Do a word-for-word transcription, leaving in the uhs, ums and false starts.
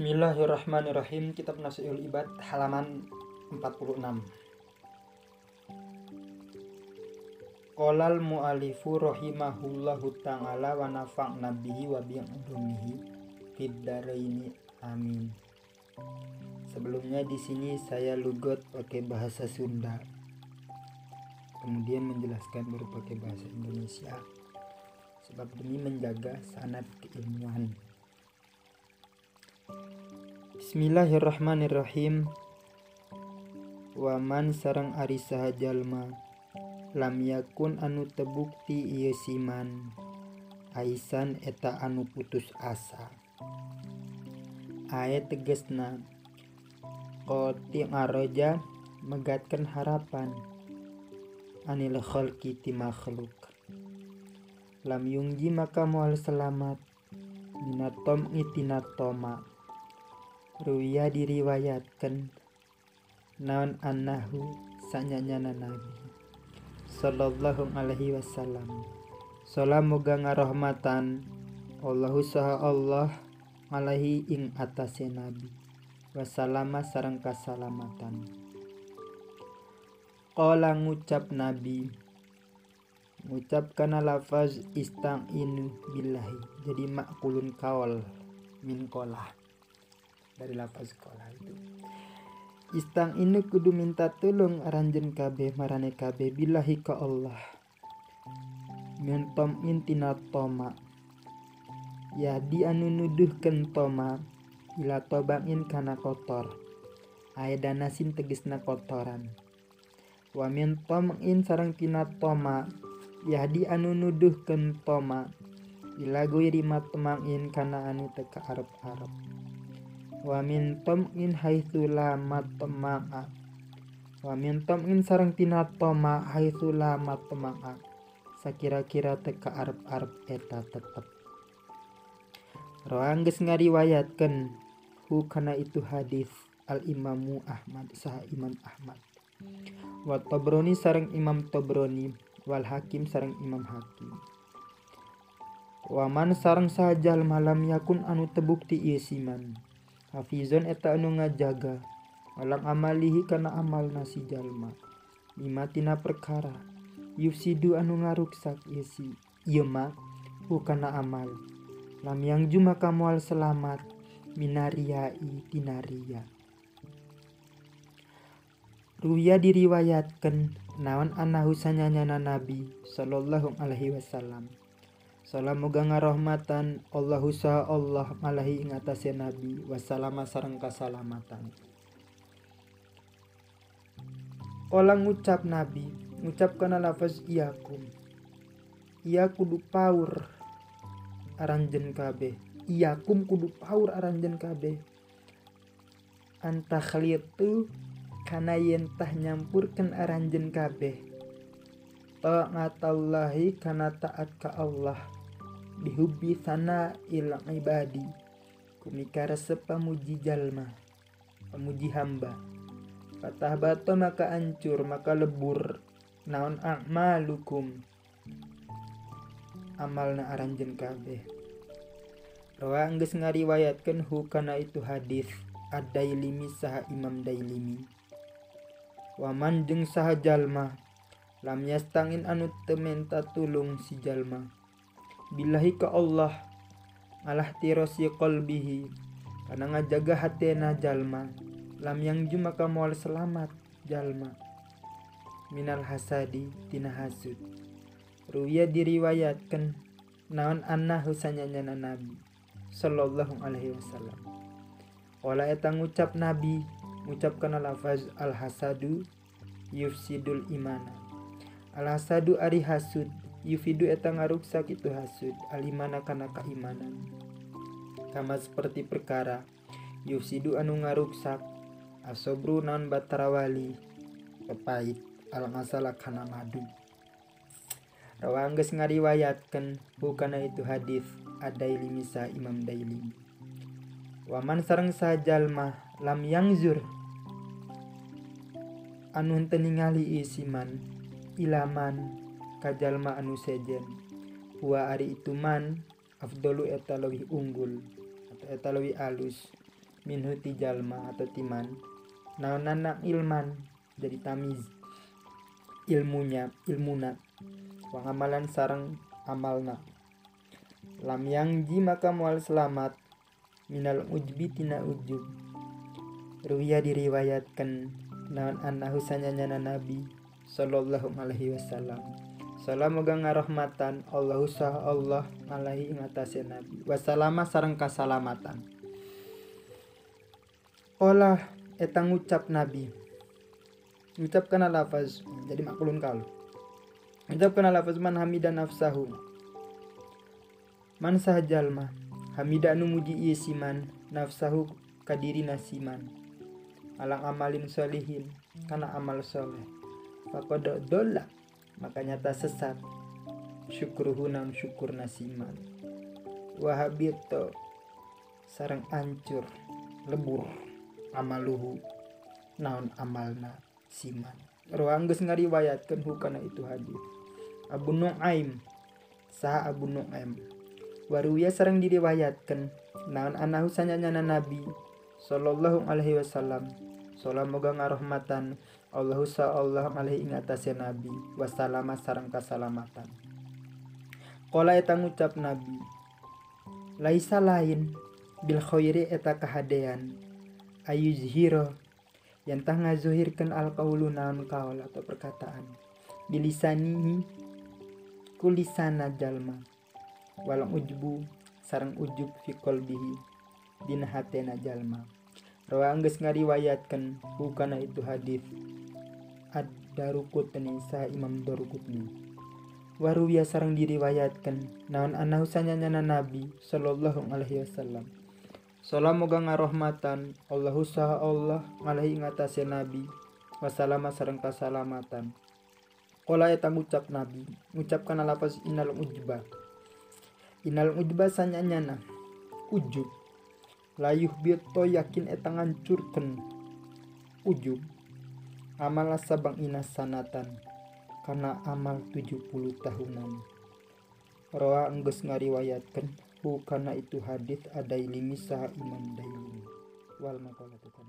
Bismillahirrahmanirrahim. Kitab Nasiul Ibad halaman empat puluh enam. Qolal mu'alifu rahimahullahu ta'ala wa nafa'na bihi wa bi'ulumihi fid dharaini amin. Sebelumnya di sini saya lugot pakai bahasa Sunda, kemudian menjelaskan baru pakai bahasa Indonesia, sebab demi menjaga sanad keilmuan. Bismillahirrahmanirrahim. Waman sareng ari saha jalma lam yakun anu tebukti ieu siman aisan eta anu putus asa. Aya tegesna qoti ngaroja megatkeun harapan anil khalqi ti makhluk. Lam yungji maka moal selamat minatom itina toma. Ruya diriwayatkan naon annahu sanyanyana Nabi sallallahu alaihi wasallam salam moga ngarahmatan Allahu saha Allah alaihi ing atase Nabi wasallama sareng kasalamatan. Qala ngucap Nabi, ngucap kana lafaz ista'inu billahi, jadi makulun kaul min qolah, dari lafaz qolah itu. Istang ini kudu minta tolong aranjen kabeh marane kabeh billahi ka Allah. Mentom intina toma. Ya di anu nuduhkeun toma ila tobain kana kotor. Aedana sin tegesna kotoran. Wa min tom'in sareng tina toma ya di anu nuduhkeun toma ila guiri matma'in kana anu teu kaarep-arep. Wa min tom'in haitsu la matma'a. Wa min tom'in sareng tina toma haitsu la matma'a. Sakira-kira teu kaarep-arep eta tetep. Rawan geus ngariwayatkeun hu kana itu hadis al Imamu Ahmad saha Imam Ahmad. Wa Tabrani sareng Imam Tabrani wal Hakim sareng Imam Hakim. Wa man sareng saha jalma lam yakun anu tebukti ieu siman hafizon eta anu ngajaga alang amalihi kana amalna si jalma lima tina perkara yufsidu anu ngaruksak ieu si ieu mah kana amal lam yang juma kamual selamat minariai tina riya. Ruya diriwayatkeun naon annahu sanyanyana Nabi sallallahu alaihi wasallam salam moga ngarahmatan Allahu saha Allah alaihi ing atase Nabi wassalama sareng kasalamatan. Olah ngucap Nabi, ngucap kana lafaz iyakum. Iya kudu paur aranjeun kabeh. Iyakum kudu paur aranjeun kabeh. Anta khalitu kana yen tah nyampurkeun aranjeun kabeh. Ta'atallahi kana taat ka Allah. Bihubbi sana il ibadi kumikara sepamuji jalma pamuji hamba patah bato maka ancur maka lebur naon a'malukum amalna aranjeun kabeh. Rawa geus ngariwayatkeun hu kana itu hadis ad-Dailimi saha Imam Dailimi. Waman jeung saha jalma lam yastangin anu teu menta tulung si jalma billahi ka Allah ngalah tirosi qalbihi kana ngajaga hatena jalma lam yang juma ka moal selamat jalma minal hasadi tina hasud. Ruya diriwayatkeun naon annahu sanyanyana Nabi sallallahu alaihi wasallam wala eta ngucap Nabi ngucap kana lafaz al hasadu yufsidul imana. Al hasadu ari hasud yufidu eta ngaruksak itu hasud alimana kana kaimanan. Kama seperti perkara yufsidu anu ngaruksak asobru naon batarawali pepait al masalah kana madu. Rawa geus ngariwayatkeun hu kana itu hadis ad-Dailimi sa Imam Dailimi. Waman sareng saha jalma lam yangzur anu henteu ningali isiman ilaman kajalma anu sejen huwa ari itu man afdalu eta leuwih unggul atau eta leuwih alus minhu ti jalma atau timan naonana ilman jadi tamiz ilmunya ilmuna wa amalan sareng amalna lam yang ji maka mual selamat minal ujbi tina ujub ruya diriwayatkan naon annahu sanyanyana nabi sallallahu alaihi wasallam salam moga ngarahmatan Allahu sah Allah alaihi ing atase nabi wasalama sareng kasalamatan olah eta ngucap nabi ngucapkan lafaz jadi makulun kal ngucapkan lafaz man hamidan nafsahu man sah jalma hamida anu muji ieu siman nafsahu kadiri nasiman alang amalin solihin kana amal soleh faqad dolla maka nyata sesat syukruhu nam syukur nasiman wahabito sareng ancur lebur amaluhu naon amalna siman ruang geus ngariwayatkeun hukana itu hadis Abu Nuaim saha Abu Nuaim waruya sareng diriwayatkeun naon anahu sanyanyana nabi sallallahu alaihi wasallam salam moga ngarahmatan Allahu sa Allah alaihi ing atase nabi wasalama sareng kasalamatan qala eta ngucap nabi laisa lain bil khairi eta kahadean ayuzhiro yang tah ngazuhirkeun alqaulu naon kaul atau perkataan bilisanihi kulisana jalma walau ujbu sareng ujub fi qalbihi dina hatena jalma rawa geus ngariwayatkeun hukana itu hadis ad-Daruqutni sa Imam Daruqutni waruya sareng diriwayatkeun naon anahu sanyanyana nabi sallallahu alaihi wasallam salam moga ngarahmatan Allahu saha Allah alaihi ing atase nabi wasalama sareng kasalamatan qala eta ngucap nabi ngucapkan lafaz innal ujba innal ujba sanyanyana ujub layuh bito yakin eta ngancurkeun ujub amal sabang inas sanatan karena amal tujuh puluh tahunan rawa enggeus ngariwayatkeun hukana itu hadis Adailimi saha Imam Dailimi wal maqalatu